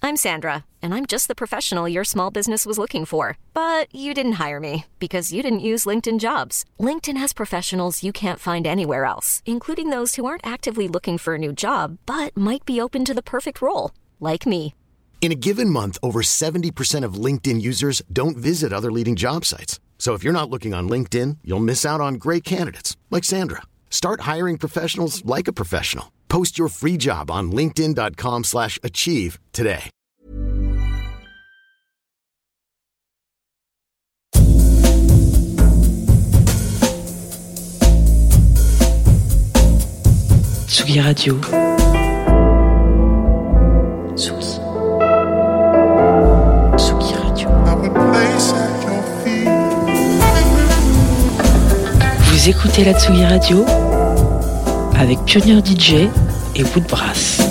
I'm Sandra, and I'm just the professional your small business was looking for. But you didn't hire me because you didn't use LinkedIn Jobs. LinkedIn has professionals you can't find anywhere else, including those who aren't actively looking for a new job, but might be open to the perfect role, like me. In a given month, over 70% of LinkedIn users don't visit other leading job sites. So if you're not looking on LinkedIn, you'll miss out on great candidates like Sandra. Start hiring professionals like a professional. Post your free job on linkedin.com/achieve today. Tsugi Radio. Tsugi. Tsugi Radio. Vous écoutez la Tsugi Radio avec Pionnier DJ et Woodbrass.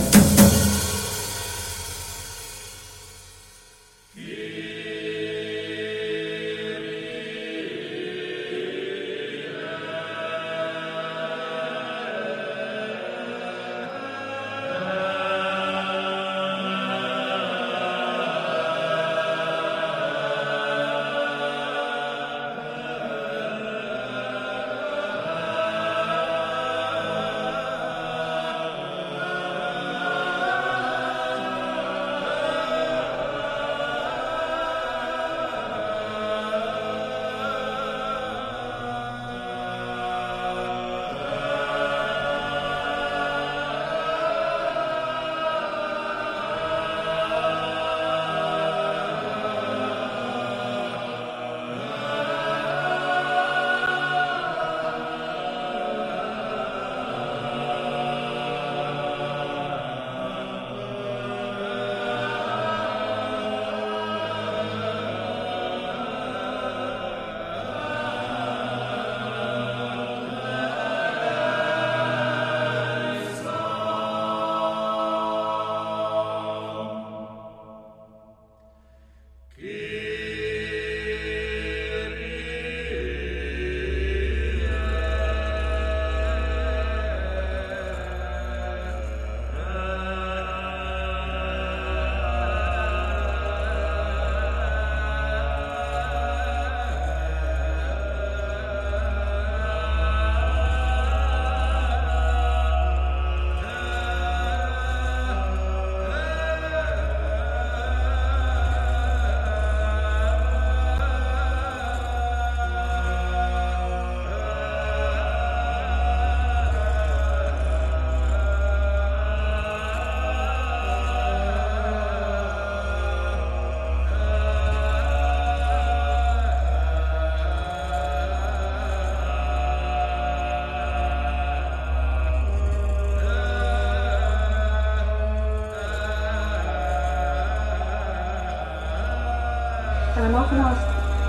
And I'm often asked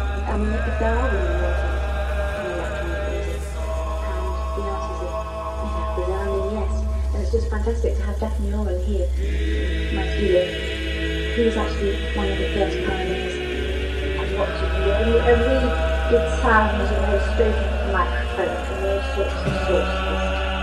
if there are women working in electronic music, and the answer is resounding yes. And it's just fantastic to have Daphne Oren here in my studio. He was actually one of the first pioneers of what to do. And we did sounds and those straight into the microphone and those sorts of sources.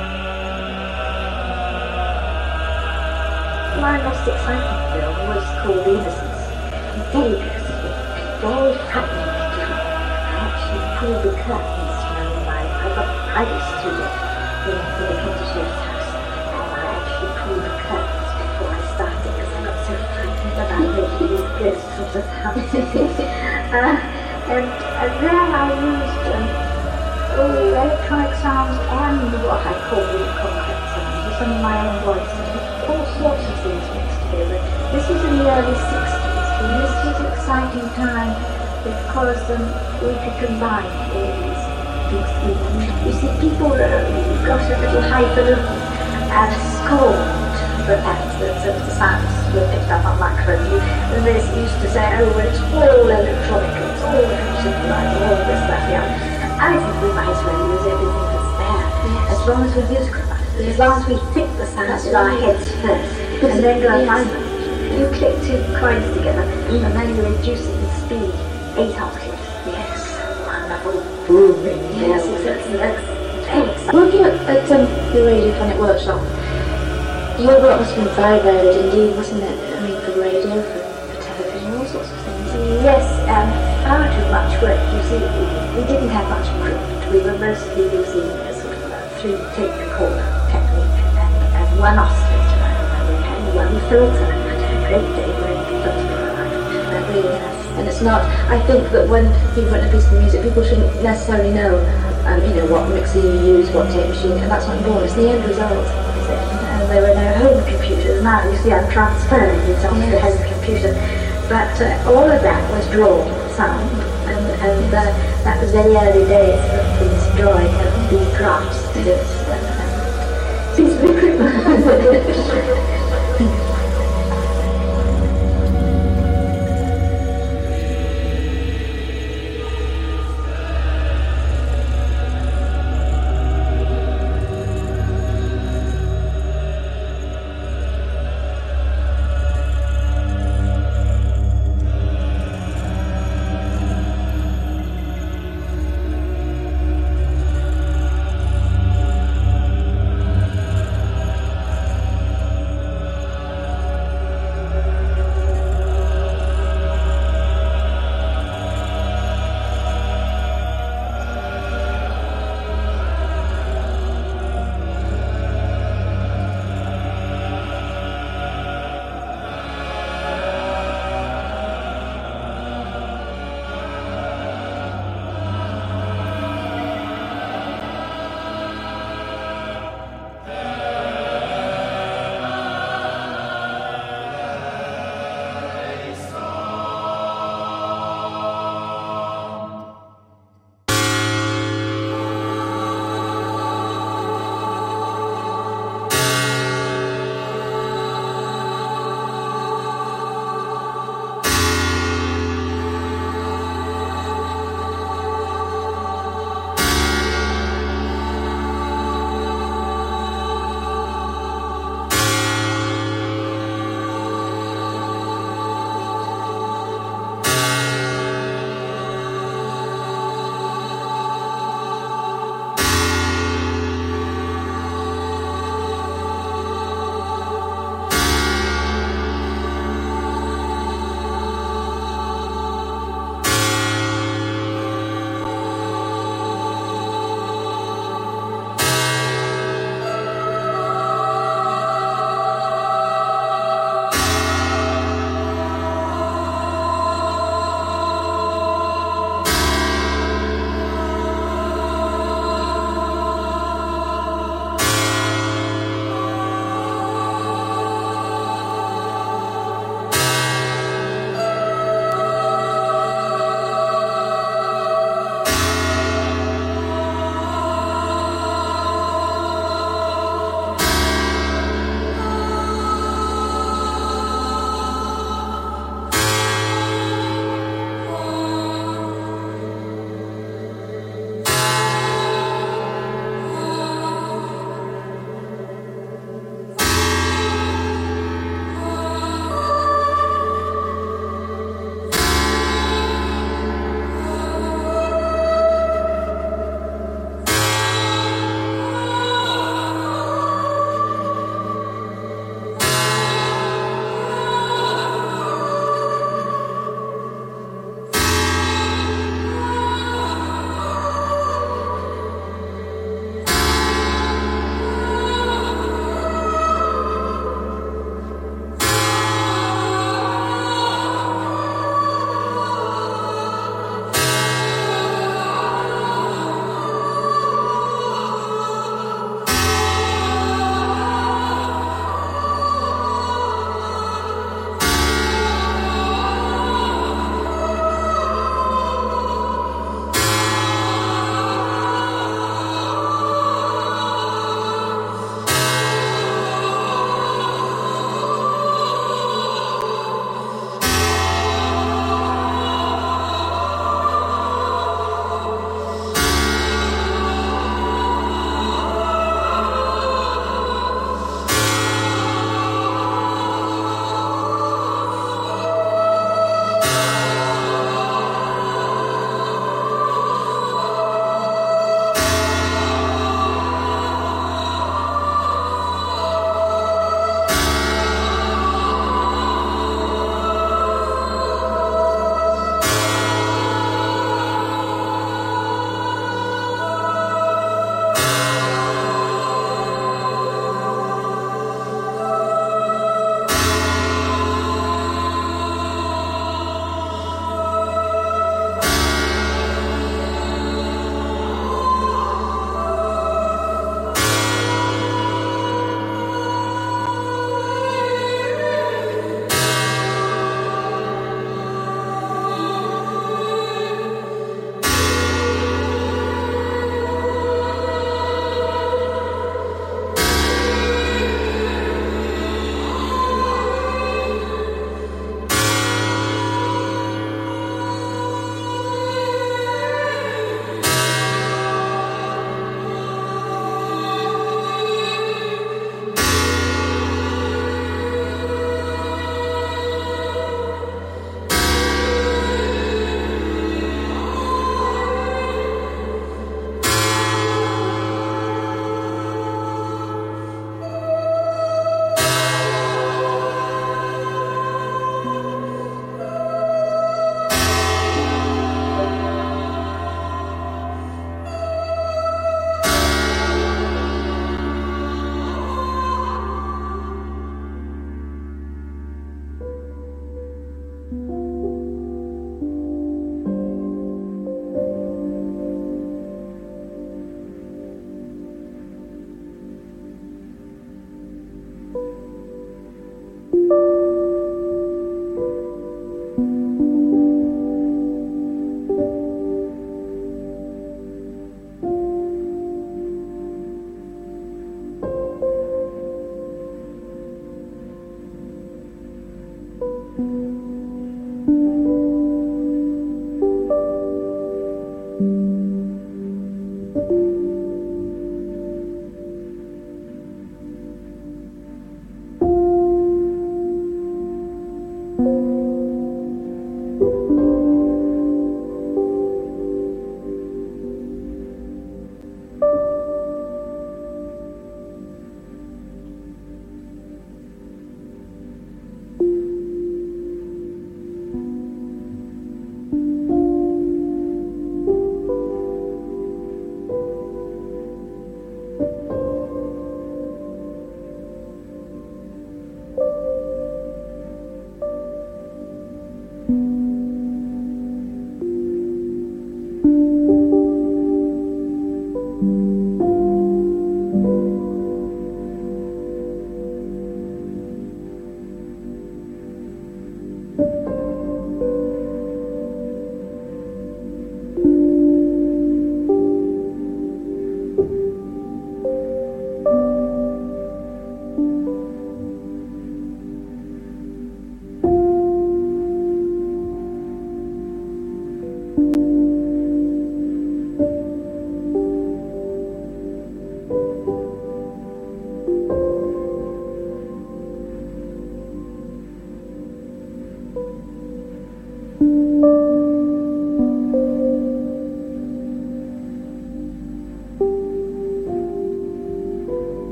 My most exciting film was called Innocence. It's dangerous. Very frightening to do. I actually pulled the curtains from I got private studio in the Kentisher's house, and I actually pulled the curtains before I started because I got so frightened about making these ghost sorts of houses. And there I used electronic sounds and what I call really concrete sounds, with some of my own voice, all sorts of things mixed together. This was in the early 60s. And this was an exciting time because we could combine all these things. You see, people got a little highfalutin and scorned the fact that the sounds were picked up on microphones. And they used to say, oh, it's all electronic, it's all synthesized, all this, that, the other. I think we might as well use everything that's there, as long as we're musical about it, as long as we think the sounds in our heads first, and then go and find them. You click two coins together, and then you reduce it in speed 8 octaves. Yes, wonderful booming. Yes, exactly. Thanks. Working at the Radiophonic Workshop, your work must have been very varied indeed, wasn't it? I mean, for radio radio, for television, all sorts of things. Yes, far too much work. You see, we didn't have much equipment. We were mostly using a sort of a 3-tape recorder technique and one oscillator, and we had one filter. Great day when filter arrived. And it's not, I think that when people want a piece of music, people shouldn't necessarily know, what mixer you use, what tape machine, and that's not important. It's the end result. And there were no home computers. Now you see I'm transferring it onto the home computer. But all of that was drawn sound, and that was very early days of these drawing of these drafts. Seems to be pretty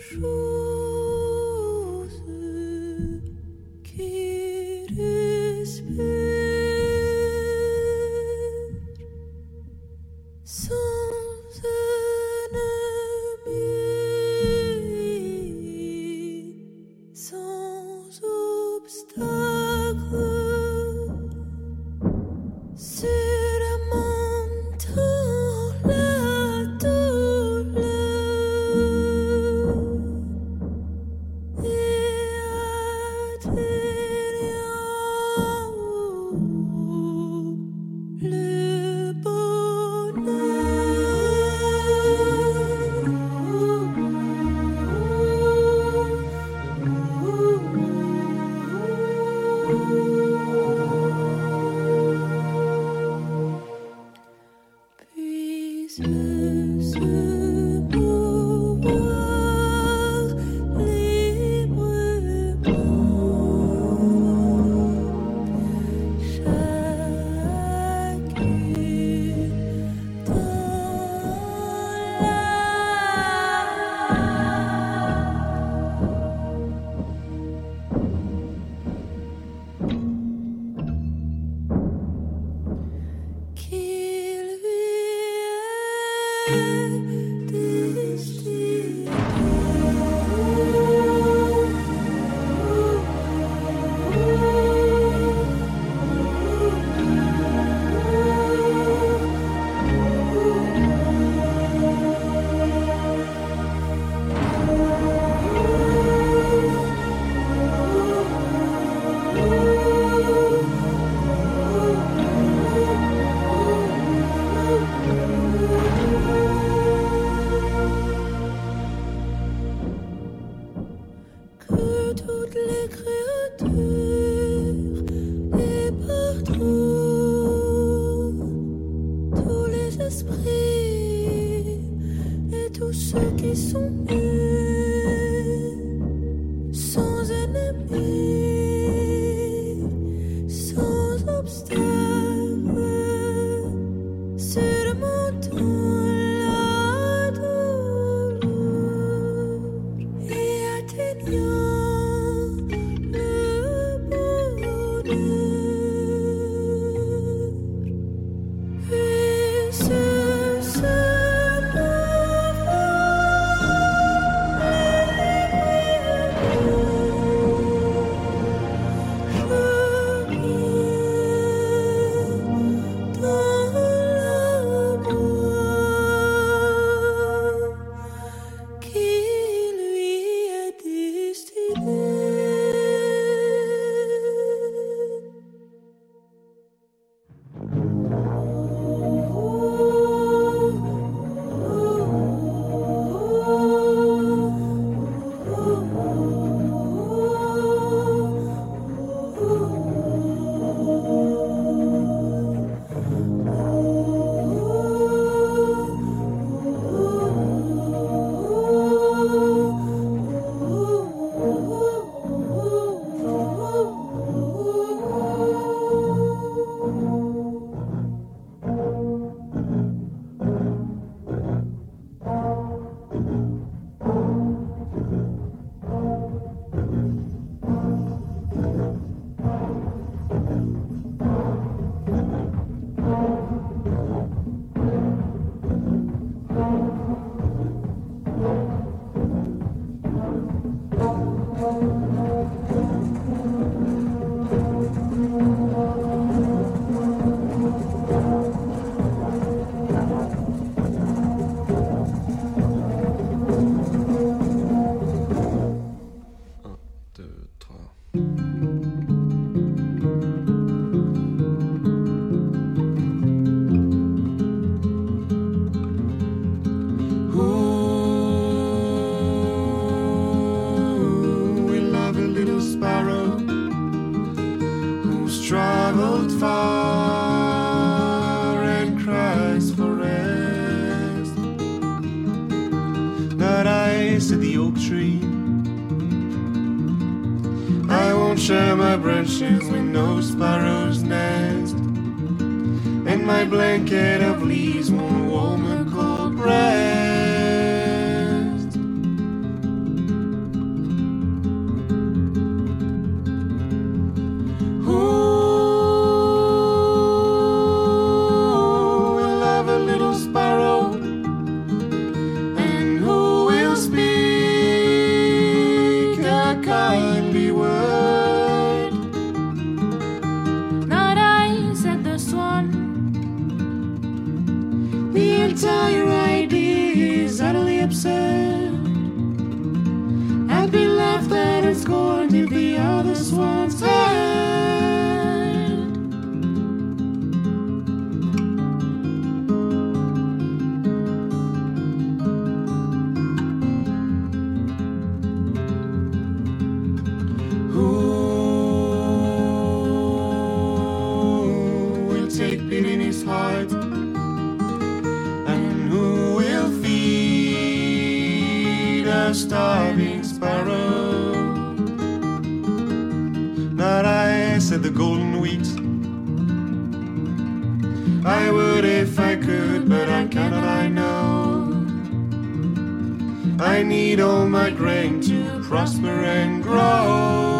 share my branches with no sparrow's nest, and my blanket of leaves won't warm a cold breast. absurd. I'd be laughed at and scorned if the other swans heard. Heart, and who will feed a starving sparrow? Not I, said the golden wheat. I would if I could, but I cannot, I know. I need all my grain to prosper and grow.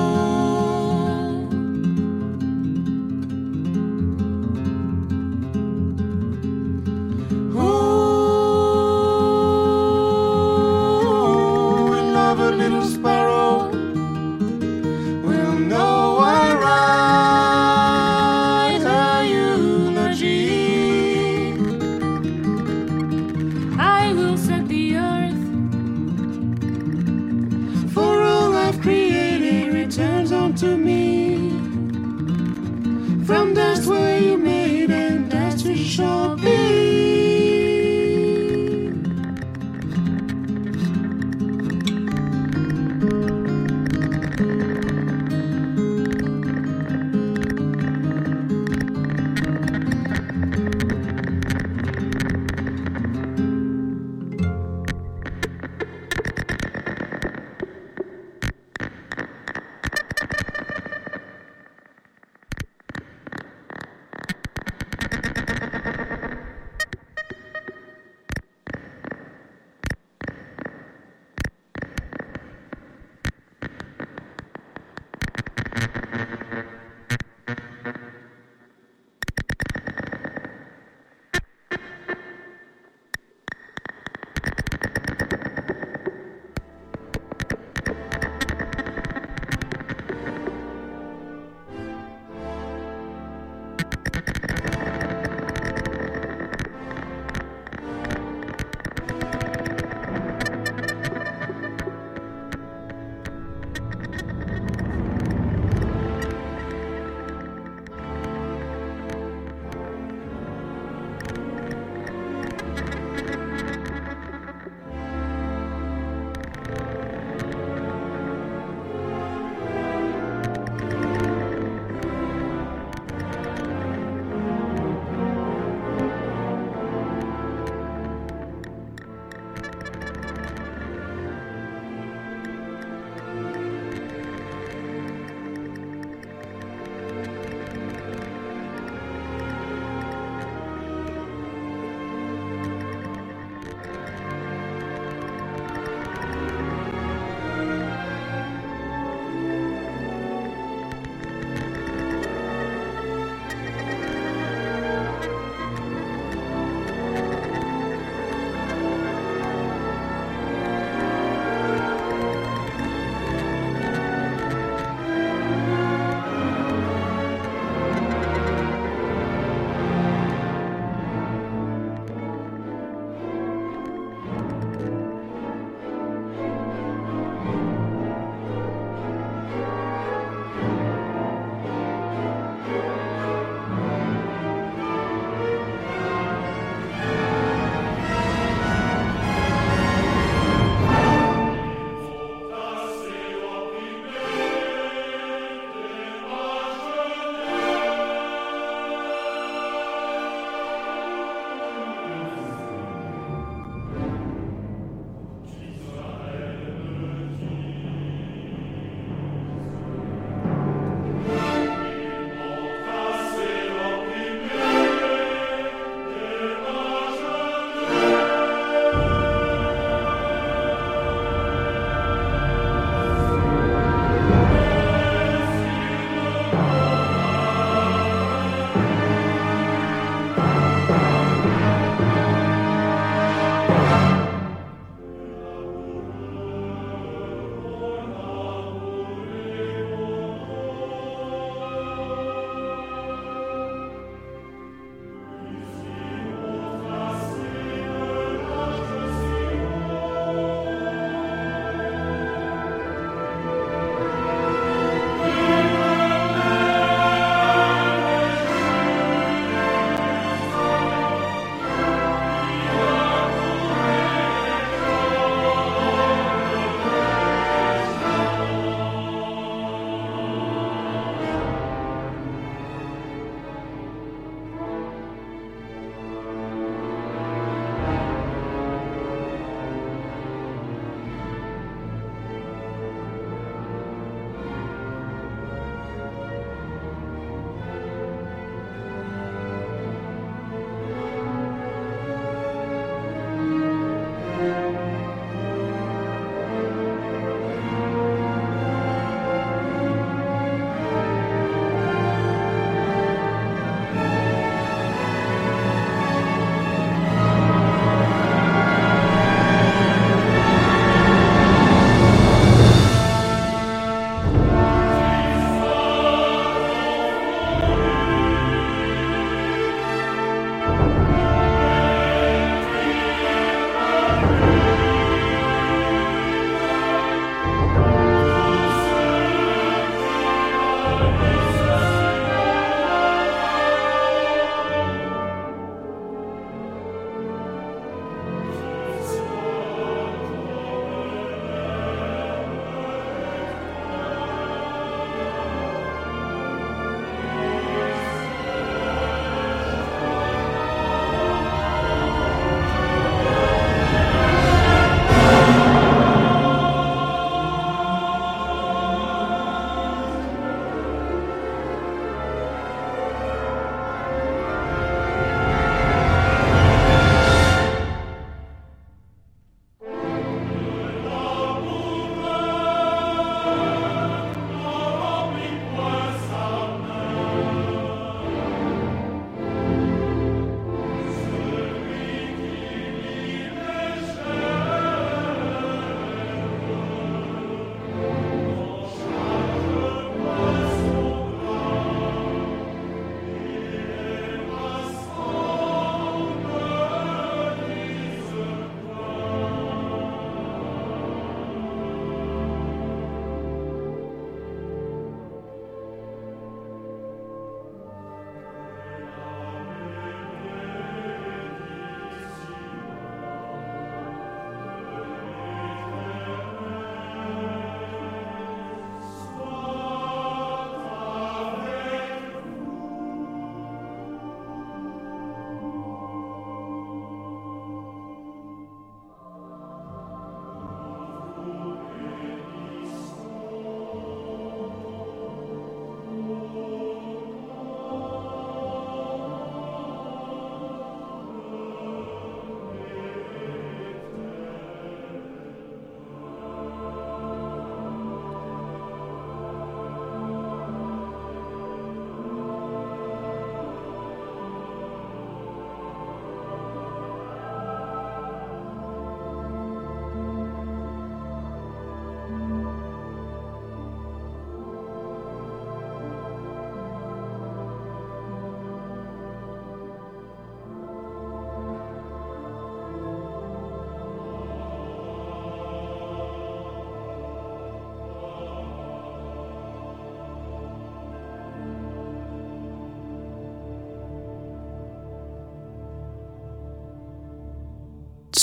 To me from dust where you made, and dust we shall be.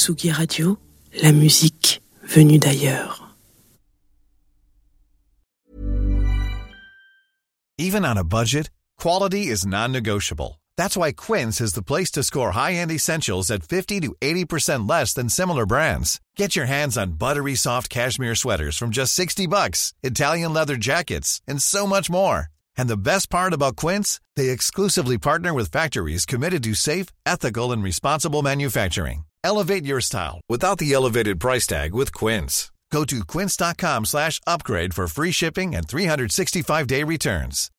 Tsugi Radio, la musique venue d'ailleurs. Even on a budget, quality is non-negotiable. That's why Quince is the place to score high-end essentials at 50 to 80% less than similar brands. Get your hands on buttery soft cashmere sweaters from just $60, Italian leather jackets, and so much more. And the best part about Quince, they exclusively partner with factories committed to safe, ethical, and responsible manufacturing. Elevate your style without the elevated price tag with Quince. Go to quince.com/upgrade for free shipping and 365-day returns.